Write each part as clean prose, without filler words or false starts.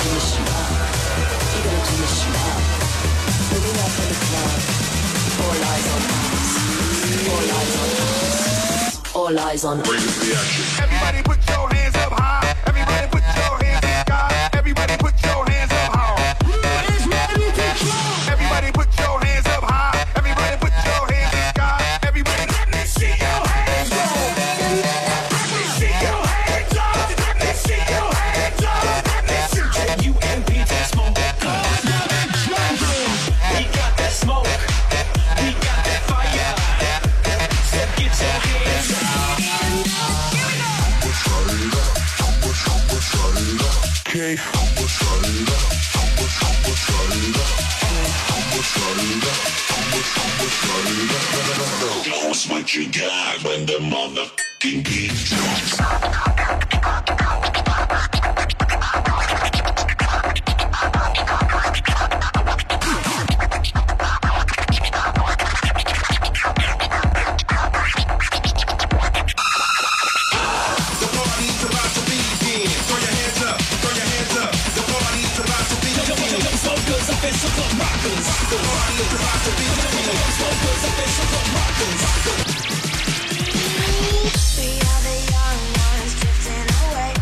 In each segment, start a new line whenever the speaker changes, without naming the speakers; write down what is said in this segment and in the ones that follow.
turn the shit up. You gotta turn the shit up. Moving up in the club. All eyes on us. All eyes on us. All eyes on us.
Bring the action.
Everybody put your hands up high. Everybody put your hands in the sky. Everybody put your hands up high. Everybody put your hands up high. Everybody put your hands in the sky. Everybody let me see your hands up. Let me see your hands up. Let me see your hands up. Let me see you and me that smoke. We got that smoke. We got that fire. So get your hands up.
Okay. Knows what you got when the motherfucking beat drops.
We are the young ones drifting away.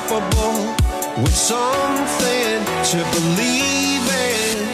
unstoppable, with something to believe in.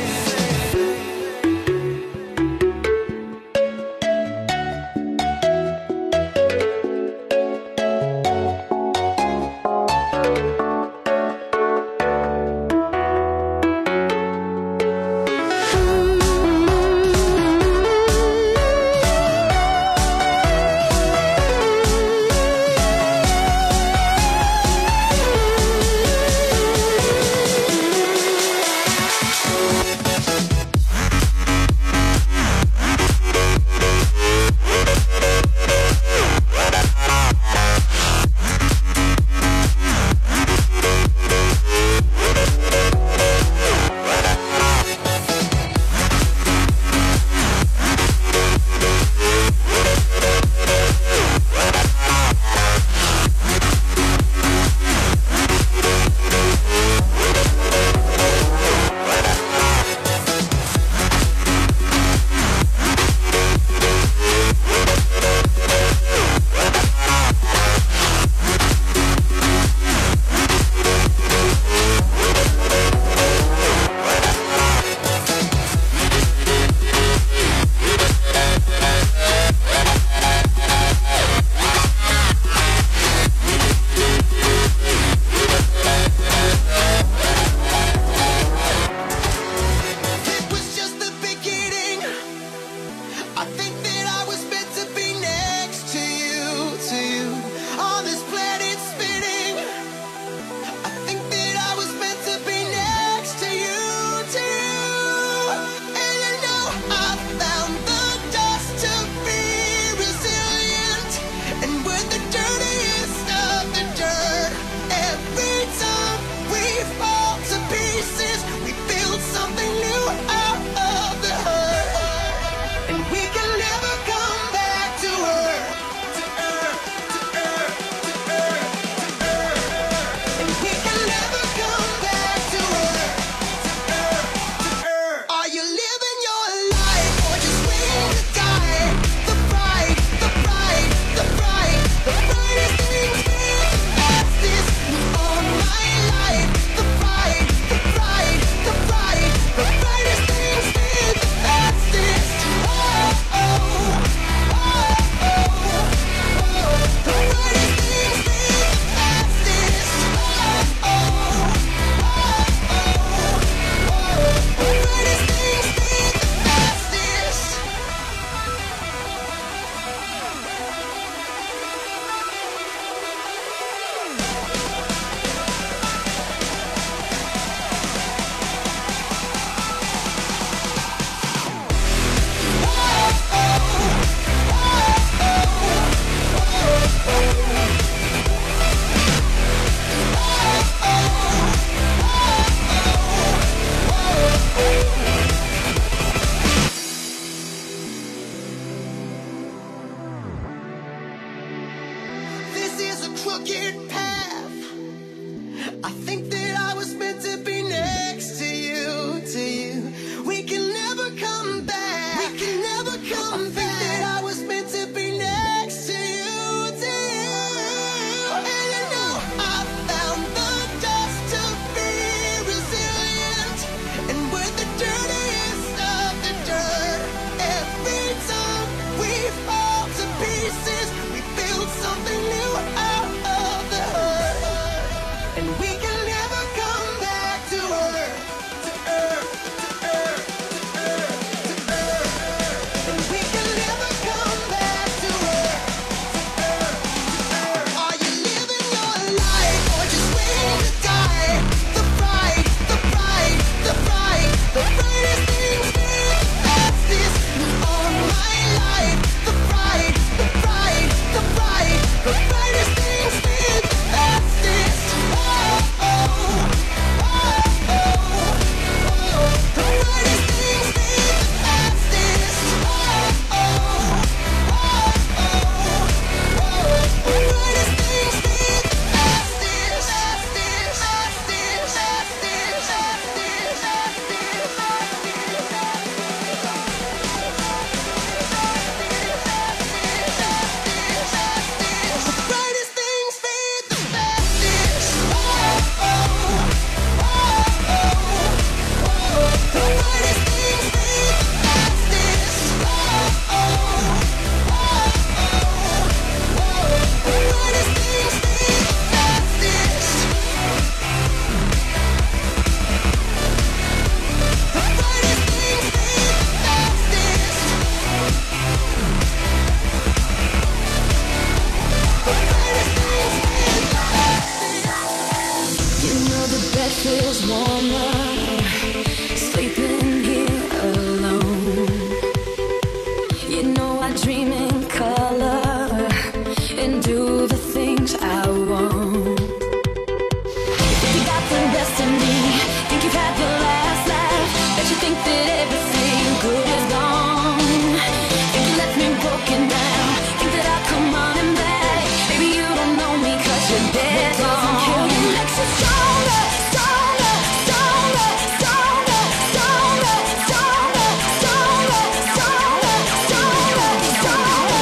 summer, sleeping here alone. You know I dream in color and do the things I want. Think you got the best of me, think you've had the last laugh, bet you think that everything good is gone. Think you left me broken down, think that I'll come running back. Baby, you don't know me 'cause you're dead. What doesn't kill you makes you stronger, stronger, stronger, stronger, stronger, stronger, stronger, stronger, stronger, stronger,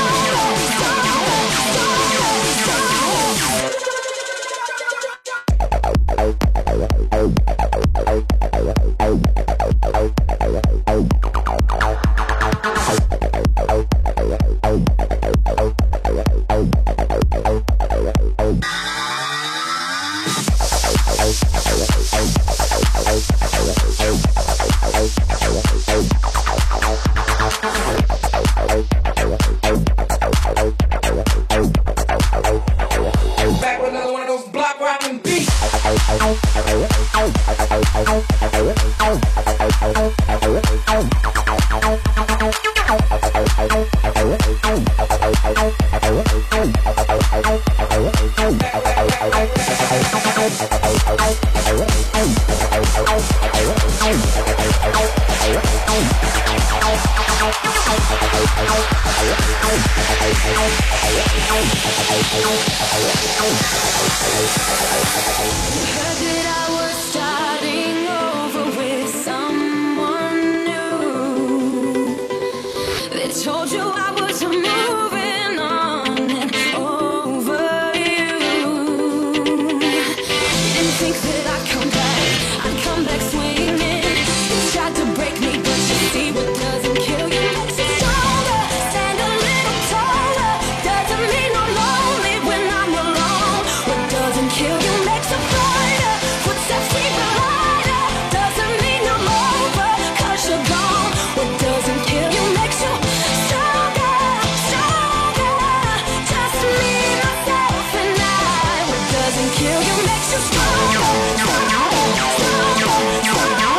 stronger, stronger,
Back with another one of those block rockin' beats.
heard that I was starting over with someone new. They told you I was moving on and over you. You didn't think that I'd come back swinging. You tried to break me, but you see what doesn't kill you makes you stronger. Stand a little taller, doesn't mean I'm lonely when I'm alone. What doesn't kill you makes a fighter. Footsteps even lighter, doesn't mean I'm over 'cause you're gone. What doesn't kill you makes you stronger, stronger. Just me, myself, and I. What doesn't kill you makes you stronger, stronger, stronger, stronger,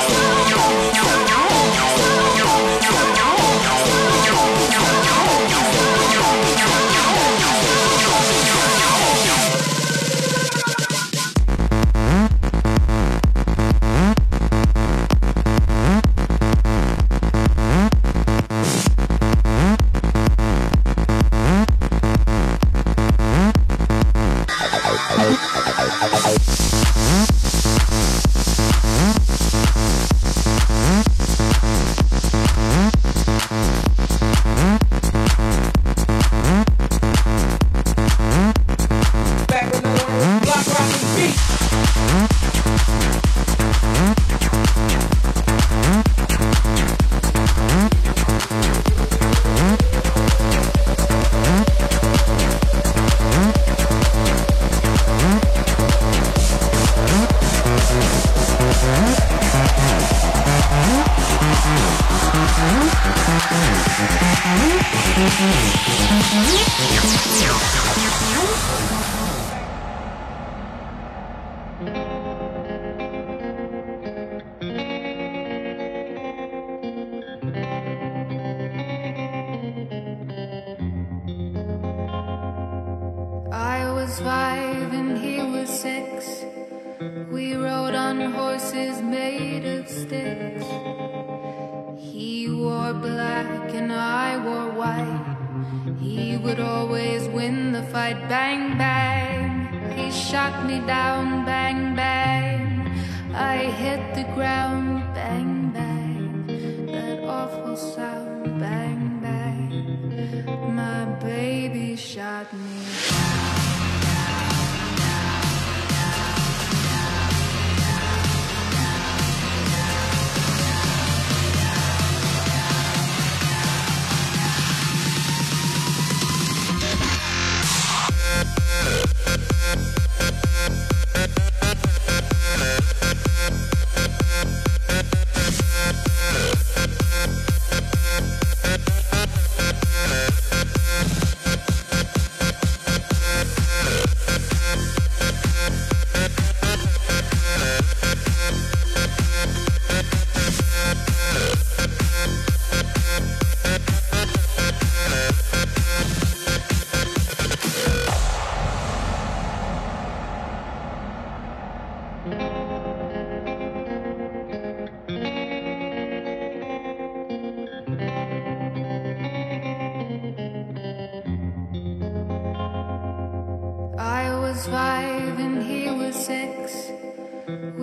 Back with another one of those block rockin' beats.
I was 5 and he was 6. We rode on horses made of sticks. He wore black and I wore white. He would always win the fight. Bang, bang. He shot me down. Bang, bang. I hit the ground. Bang, bang. That awful sound. Bang, bang. My baby shot me.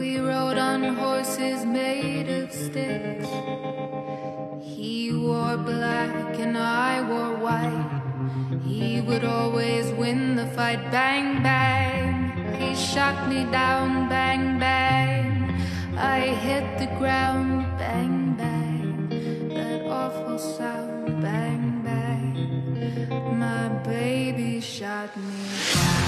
We rode on horses made of sticks. He wore black and I wore white. He would always win the fight. Bang, bang. He shot me down. Bang, bang. I hit the ground. Bang, bang. That awful sound. Bang, bang. My baby shot me down.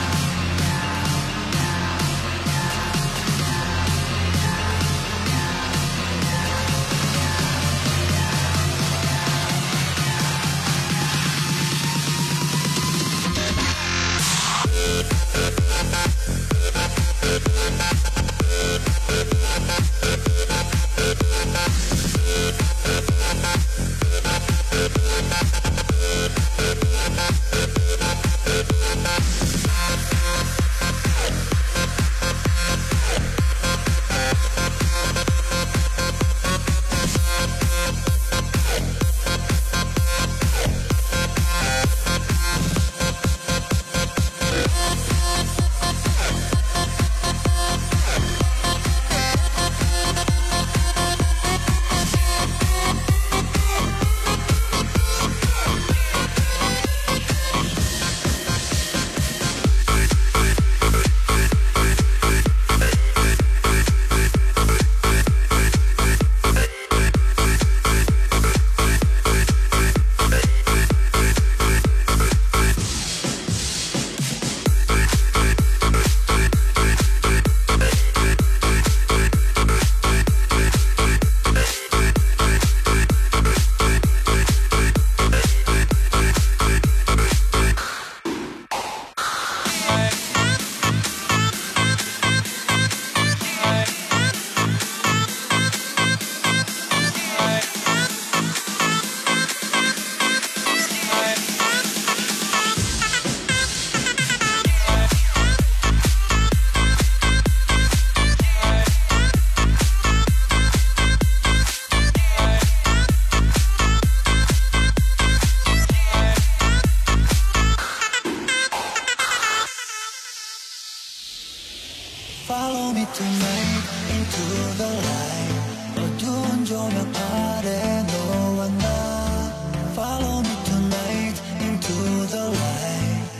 Follow me tonight into the light. 어두운 조명 아래 너와 나. Follow me tonight into the light.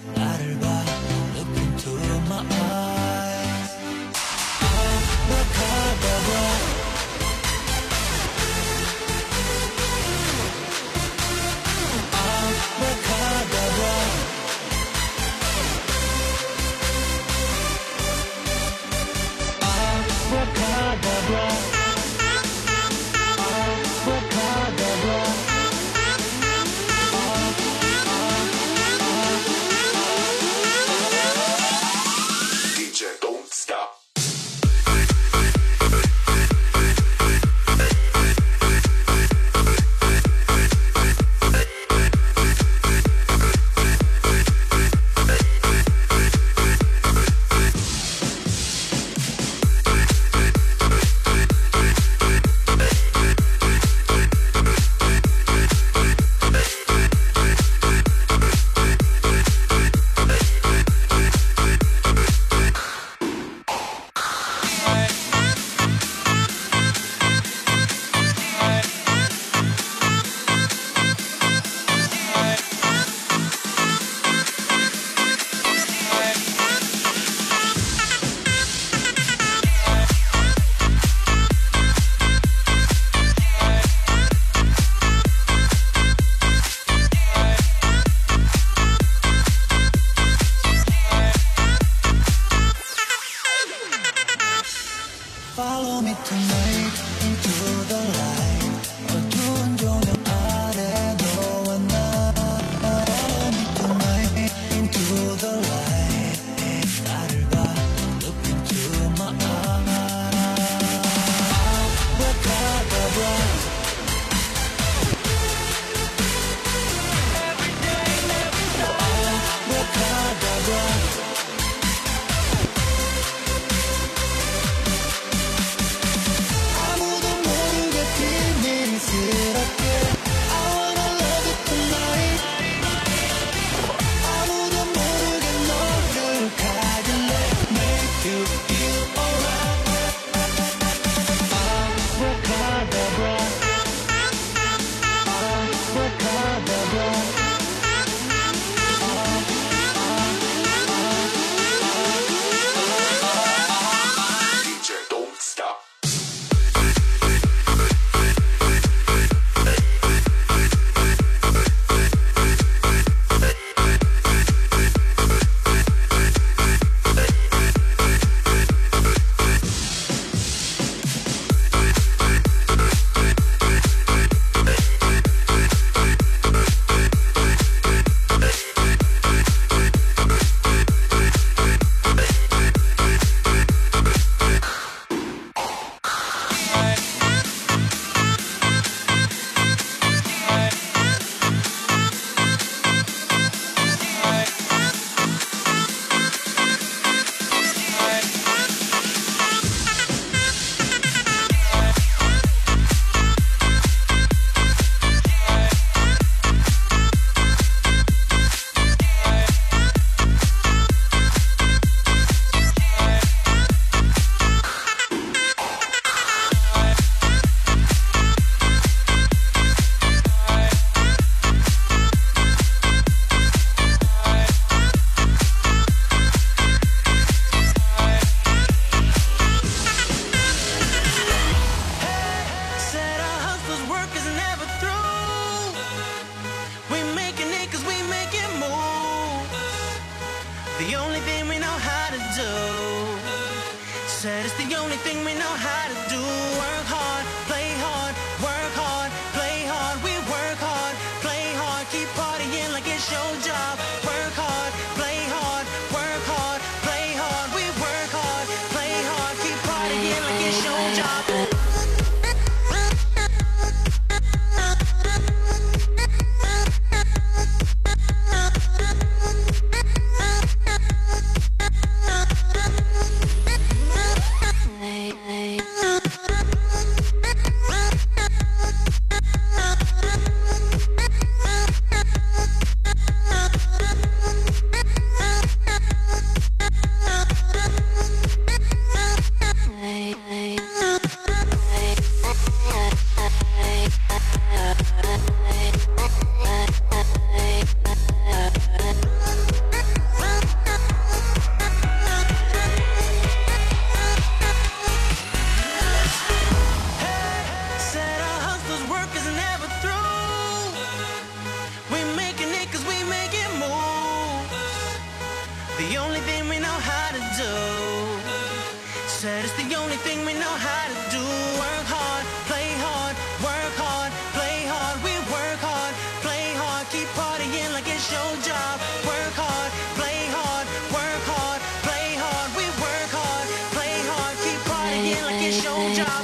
나를 봐, look into my eyes. Abracadabra. Abracadabra. Abracadabra. Abracadabra.
DJ, don't stop.
Follow me tonight into the light. 어두운 조명 아래 너와 나. Follow me tonight into the light. 나를 봐, look into my eyes. Abracadabra. Abracadabra. 아무도 모르게
only thing we know how to do. Work hard, play hard, work hard, play hard. We work hard, play hard, keep partying like it's your job. Work hard, play hard, work hard, play hard. We work hard, play hard, keep partying like it's your job.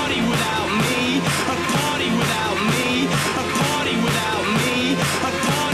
A party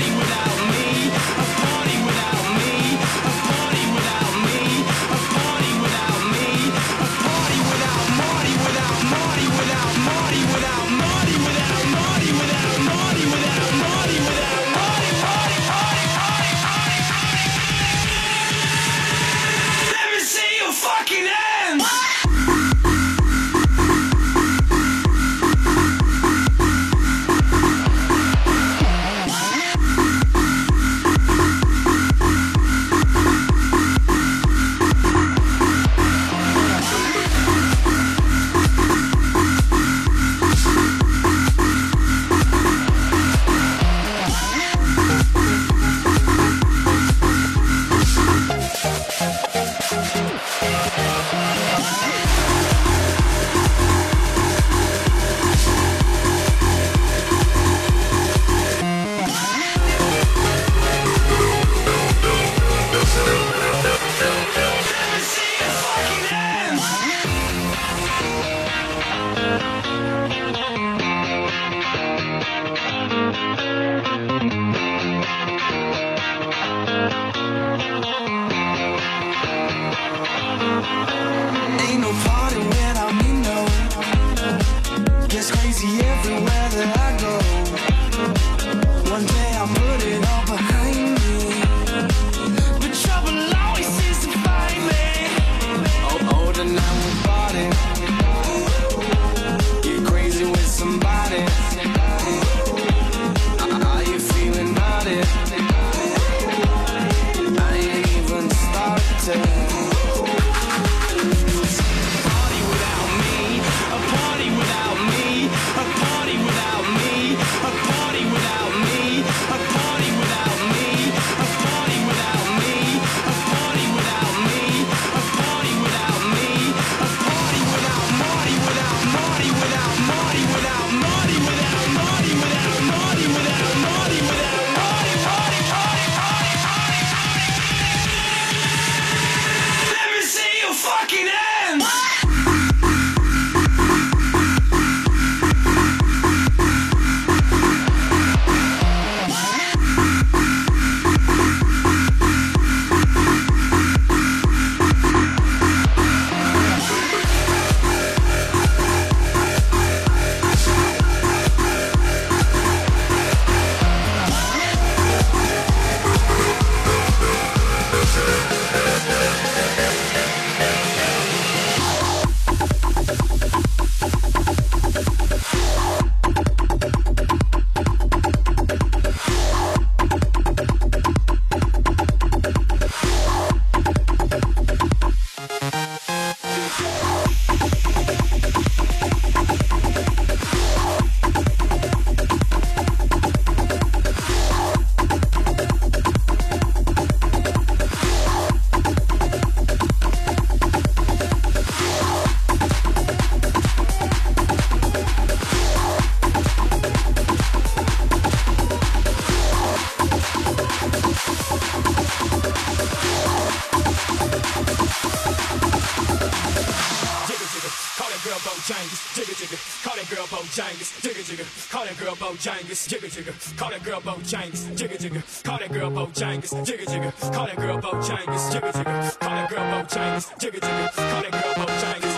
Bojangles, jigga jigga. Call that girl Bojangles, jigga jigga. Call that girl Bojangles, jigga jigga. Call that girl Bojangles, jigga jigga. Call that girl Bojangles, jigga jigga. Call that girl Bojangles, jigga jigga. Call that girl Bojangles.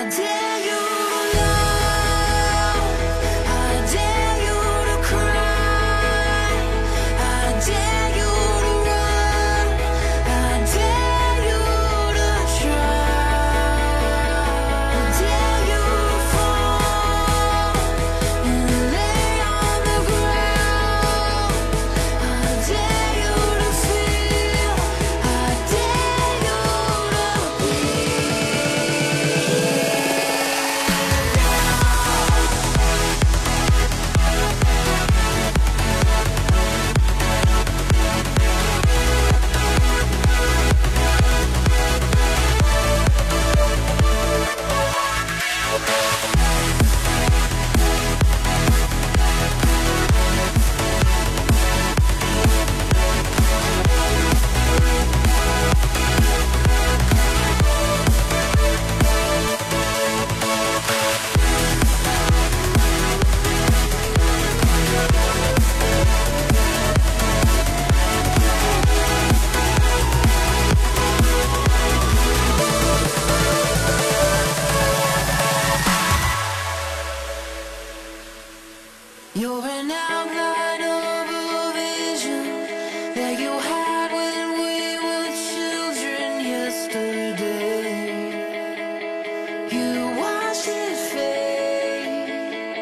dare you to love, I dare you to cry, I dare you to run, I dare you to try, I dare you to fall and lay on the ground, I dare you to feel, I dare you to be. You're an outline of a vision that you had when we were children yesterday. You watched it fade.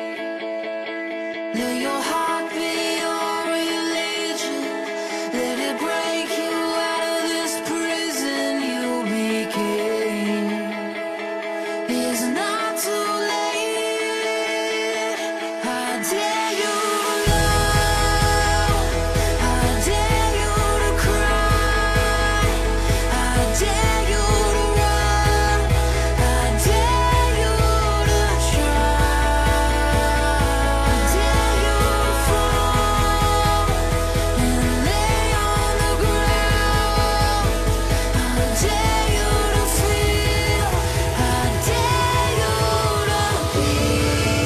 Let your heart be your religion. Let it break you out of this prison you became. It's not too late. I dare you to love, I dare you to cry, I dare you to run, I dare you to try, I dare you to fall and lay on the ground, I dare you to feel, I dare you to be.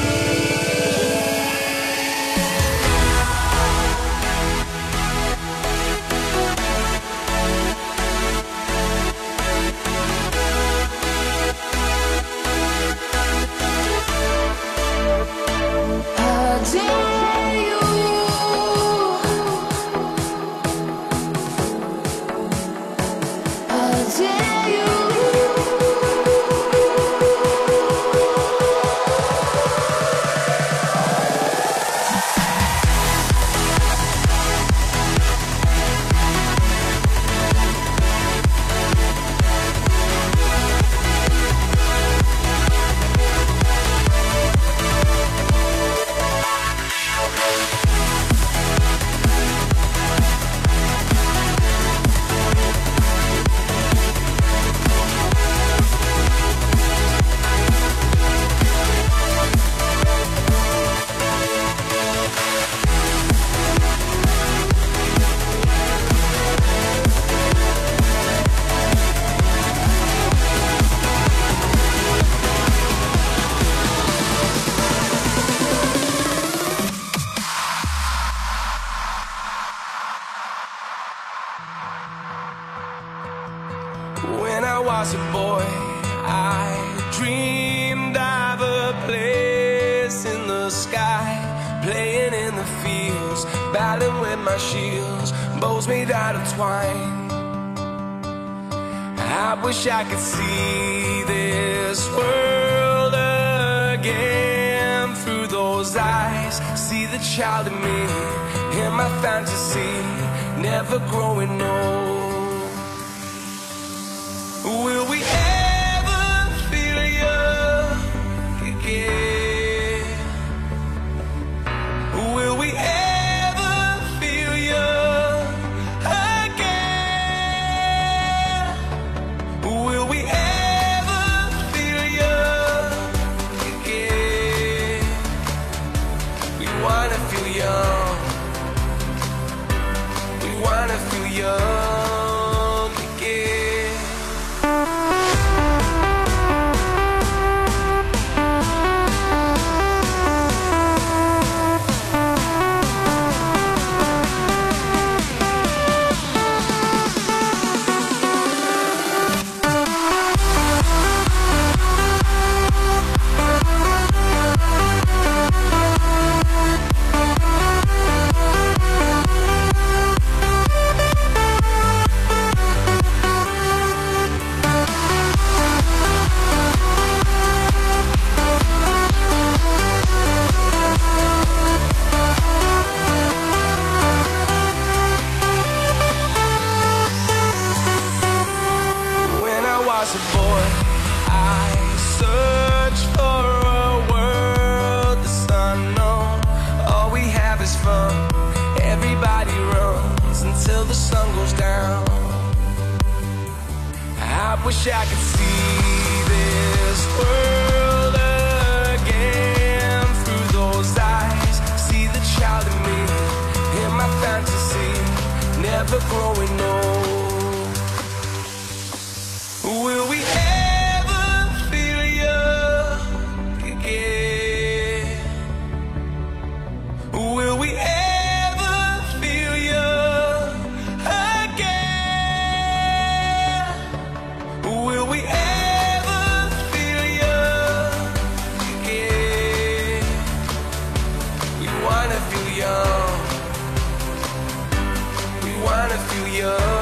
I dare you. I dare you.
When I was a boy, I dreamed of a place in the sky, playing in the fields, battling with my shields, bows made out of twine. I wish I could see this world again through those eyes, see the child in me, in my fantasy, never growing old. Will we ever feel young again? Will we ever feel young again? Will we ever feel young again? We wanna feel young. We wanna feel young again. this world again through those eyes. See the child in me, in my fantasy, never growing old. Will we ever feel young again? Will we ever feel young again? Will we ever feel young again? We wanna feel young. We wanna feel young again.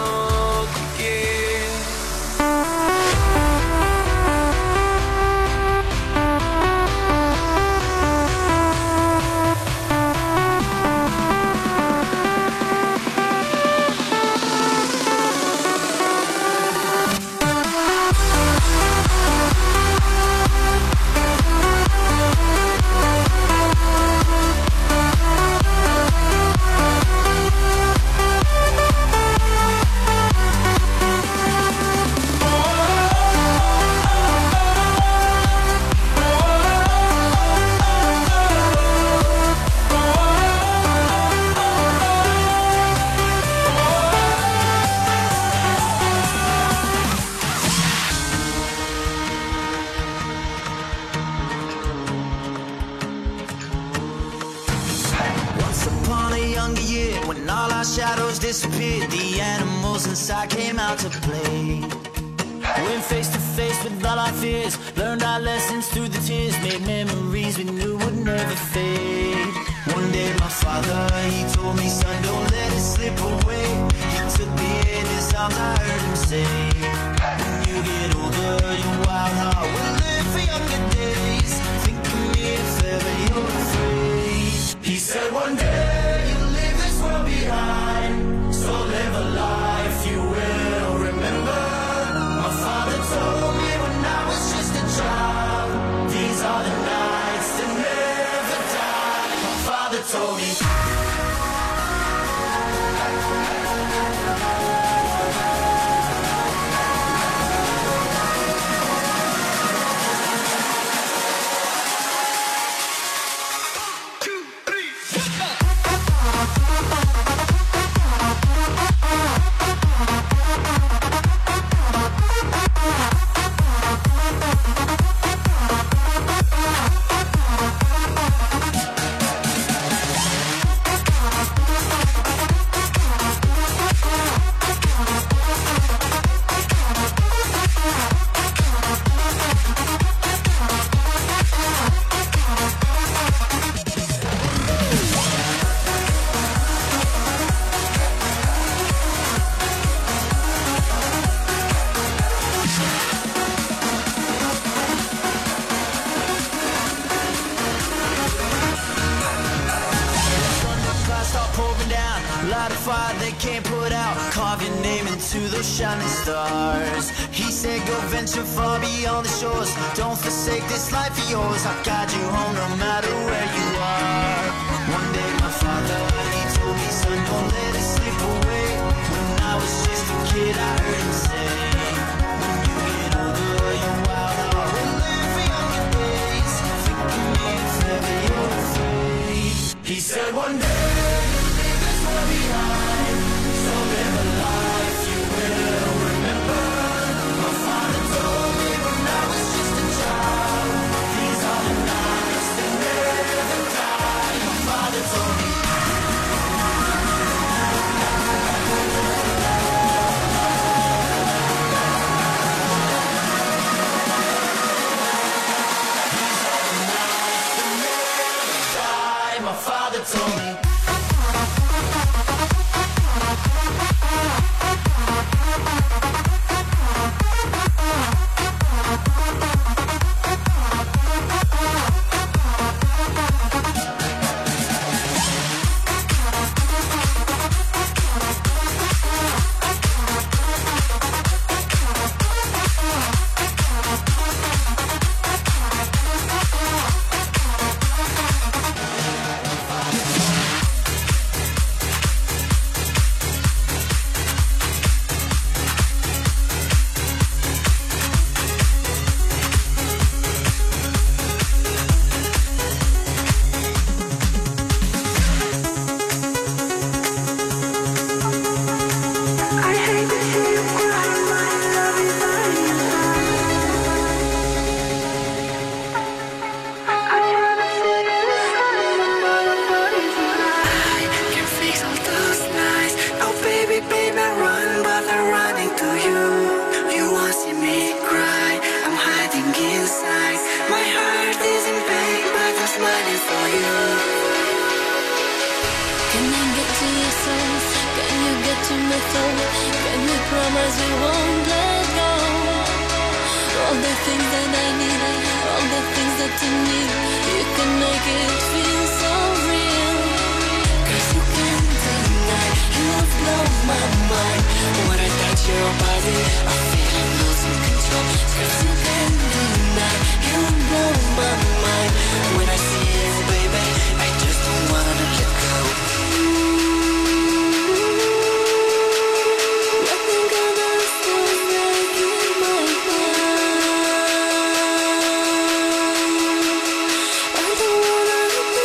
Once upon a younger year, when all our shadows disappeared, the animals inside came out to play. Went face to face with all our fears, learned our lessons through the tears, made memories we knew would never fade. One day my father, he told me, son, don't let it slip away. He took me in his arms, I heard him say, when you get older, your wild heart will live for younger days. Think of me if ever you're afraid. He said one day you'll leave this world behind, so live a life you will remember. My father told me when I was just a child, these are the nights that never die. My father told me. Light a fire they can't put out, carve your name into those shining stars. He said go venture far beyond the shores, don't forsake this life of yours. I'll guide you home no matter where you are. One day my father, he told me, son, don't let it slip away. When I was just a kid I heard him say, when you get older your wild heart will live for younger days. Think of me if ever you're afraid. He said one day behind, so live a life you will remember. My father told me when I was just a child, these are the nights that never die. My father told me.
essence? Can you get to my soul? Can you promise we won't let go? All the things that I need, all the things that you need, you can make it feel so real. 'Cause you can't deny, you blow my mind. When I touch your body, I feel I'm losing control. 'Cause you can't deny, you blow my mind. When I see you, baby, I just don't wanna let go. Nothing gonna stop breaking my heart. I don't wanna be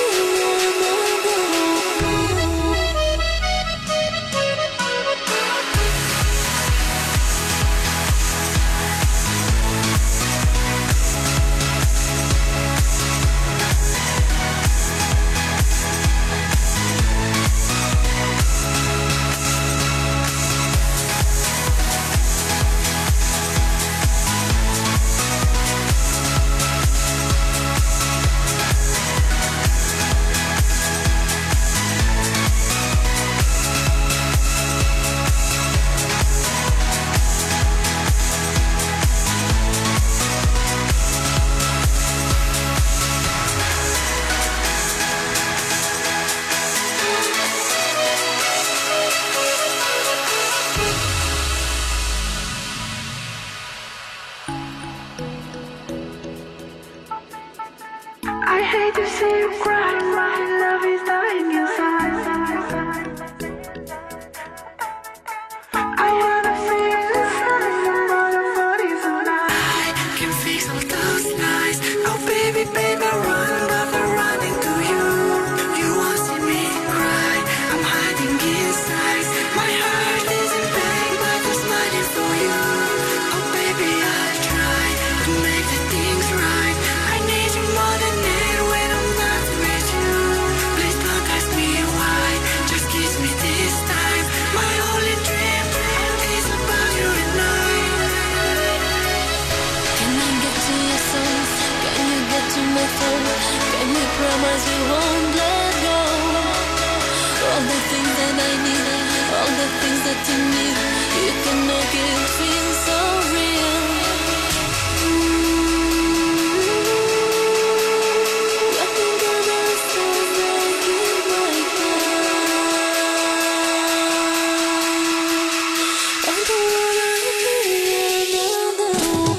I hate to see you cry, my love is dying inside. I wanna feel the sun, but the body's alive. I can fix all those lies. Oh baby, baby, run, but I'm running to you. You won't see me cry, I'm hiding inside. My heart is in pain, but I'm smiling for you. Oh baby, I'll try to make the things right. I need you more than ever when I'm not with you. Please don't ask me why, just kiss me this time. My only dream is about you and I. Can I get to your soul? Can you get to my soul? Can you promise you won't let go? All the things that I need, all the things that you need, you can make it feel so real. Nothing gonna stop breaking my heart. I don't wanna be another one.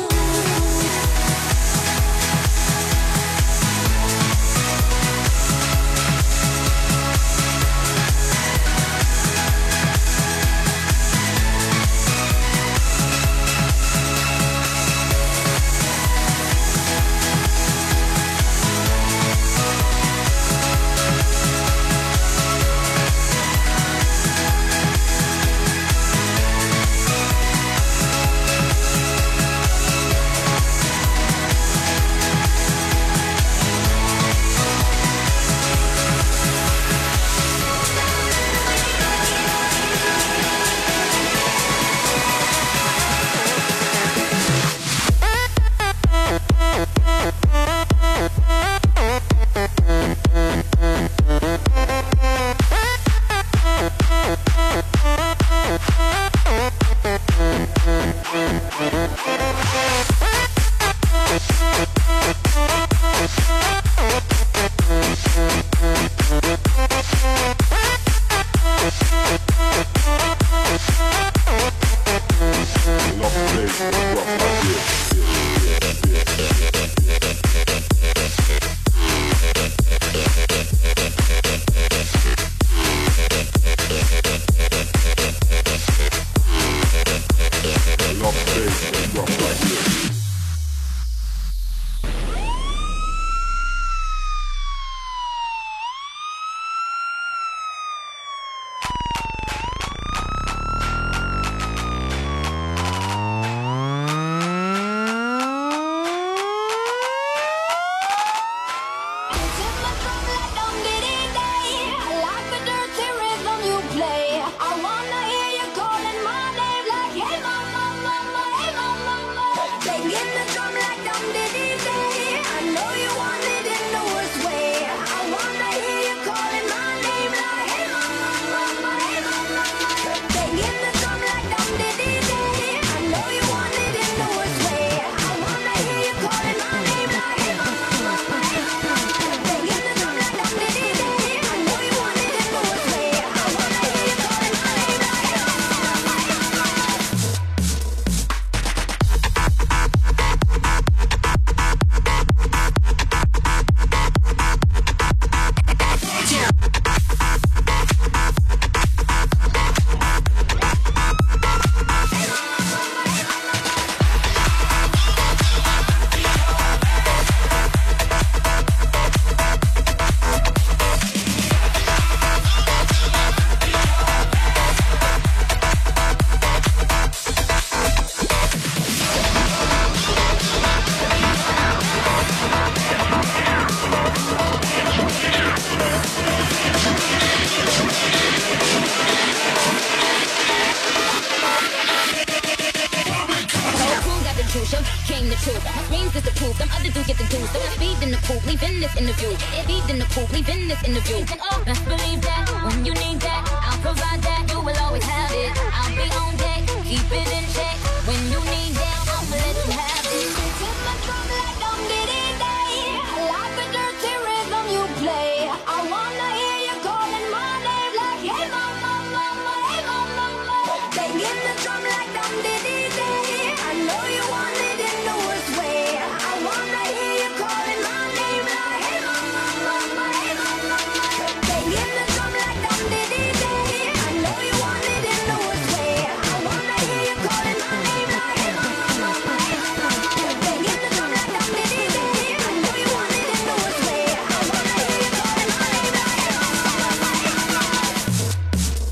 dreams is the proof. Them other dudes get the juice. So I speed in the poop, leaving this interview. Speed in the poop, leaving this interview. And oh, best believe that when you need that, I'll provide that. You will always have it. I'll be on deck, keep it in check. When you need that, I'ma let you have it. Take my drum like I'm Diddy Day. I like the dirty rhythm you play. I wanna hear you calling my name like, hey mama, mama, hey mama, mama. Banging the drum like I'm Diddy Day. I know you want it in the worst way. I wanna hear you calling my name like, hey mama, mama, hey mama, mama. Banging the drum like I'm Diddy Day. I know you want it in the worst way. I wanna hear you calling my name like, hey mama, mama, hey mama, mama. Banging the drum like I'm Diddy Day. I know you want it in the worst way. I wanna hear you calling my name like, hey mama, mama, hey mama, mama.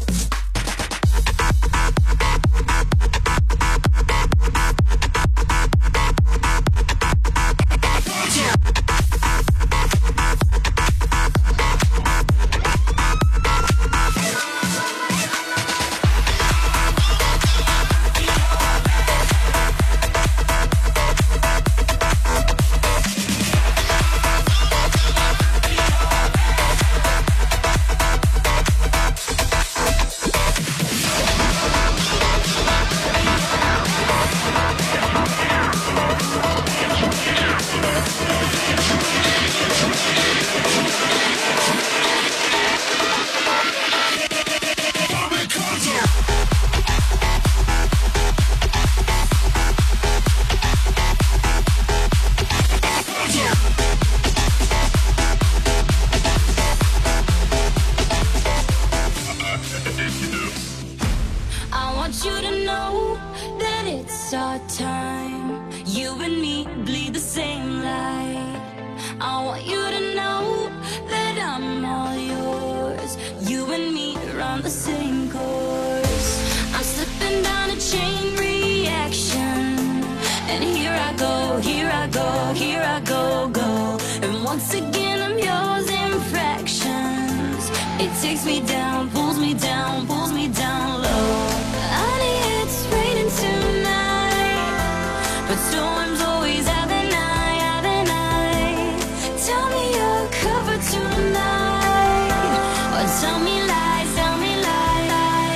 I want you to know that it's our time. You and me bleed the same light. I want you to know that I'm all yours. You and me run the same course. I'm slipping down a chain reaction, and here I go, here I go, here I go, go. And once again I'm yours in fractions. It takes me down, pulls me down, pulls me down low. Honey, it's raining tonight, but storms always have an eye, have an eye. Tell me you're covered tonight, or tell me lies, tell me lies.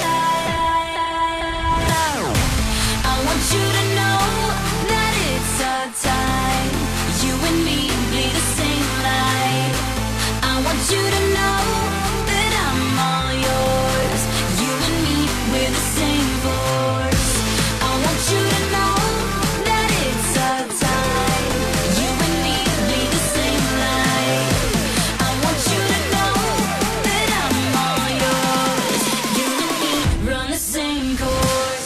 I want you to know that it's our time. You and me bleed the same light. I want you to know that I'm all yours. You and me, we're the same force. I want you to know that it's our time. You and me bleed the same light. I want you to know that I'm all yours. You and me run the same course.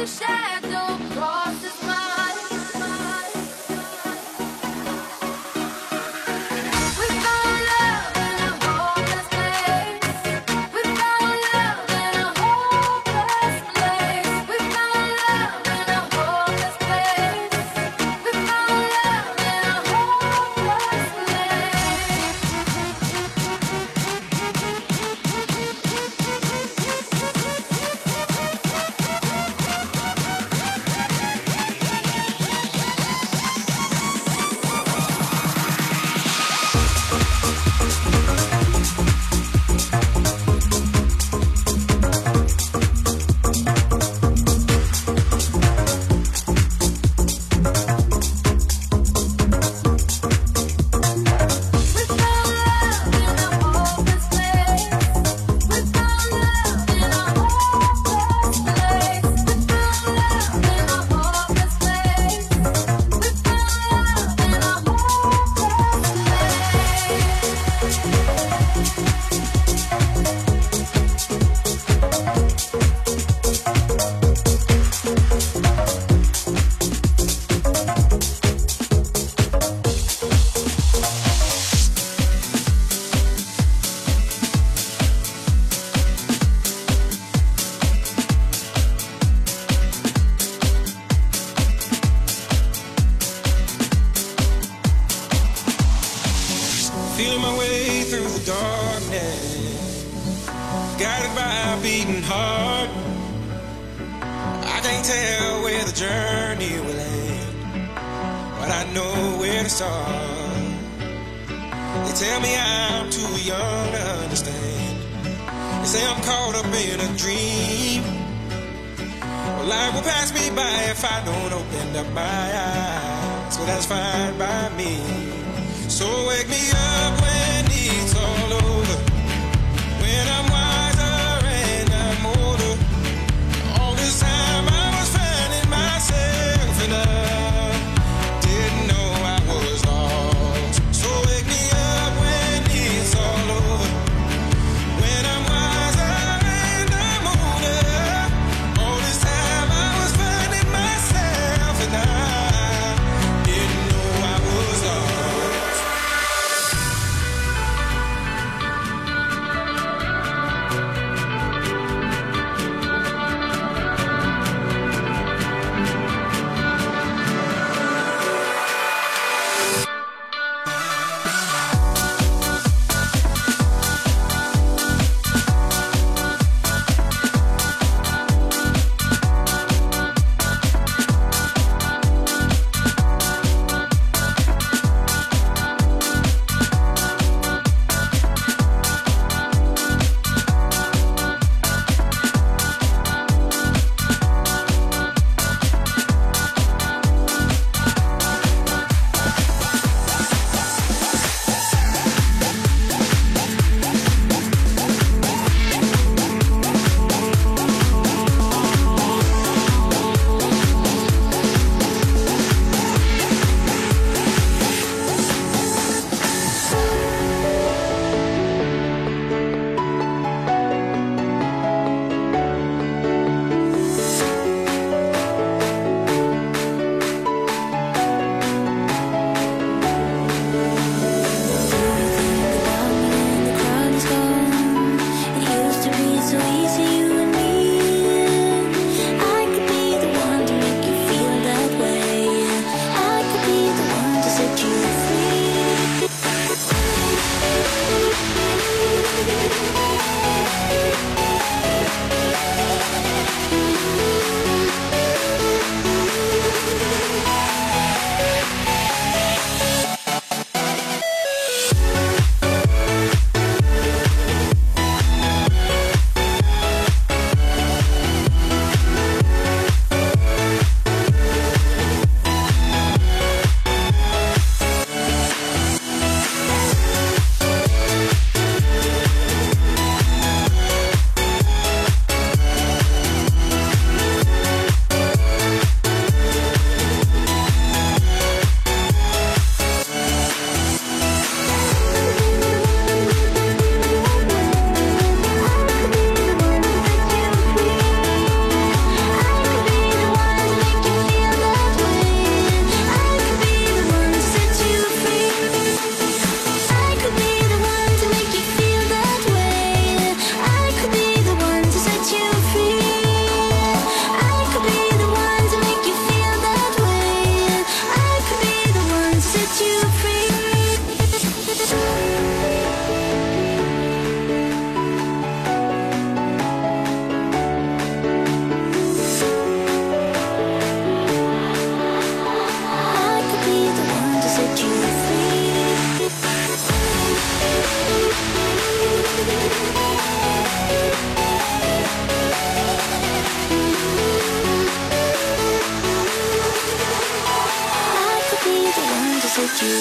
Feeling my way through the darkness, guided by a beating heart. I can't tell where the journey will end, but I know where to start. They tell me I'm too young to understand. They say I'm caught up in a dream. Well, life will pass me by if I don't open up my eyes. Well, that's fine by me. So wake me up when it's all over, when I'm wiser and I'm older. All this time I was finding myself and I didn't know I was lost. So wake me up when it's all over, when I'm wiser and I'm older. All this time I was finding myself and I didn't know I was lost.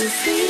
see